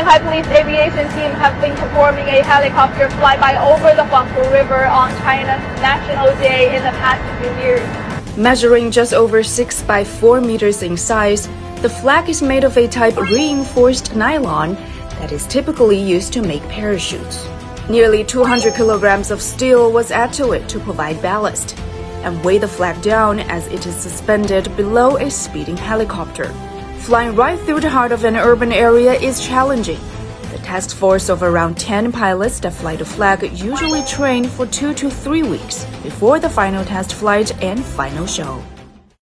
Shanghai Police Aviation Team have been performing a helicopter flyby over the Huangpu River on China's National Day in the past few years. Measuring just over 6 by 4 meters in size, the flag is made of a type reinforced nylon that is typically used to make parachutes. Nearly 200 kilograms of steel was added to it to provide ballast and weigh the flag down as it is suspended below a speeding helicopter. Flying right through the heart of an urban area is challenging. The task force of around 10 pilots that fly the flag usually train for 2 to 3 weeks before the final test flight and final show.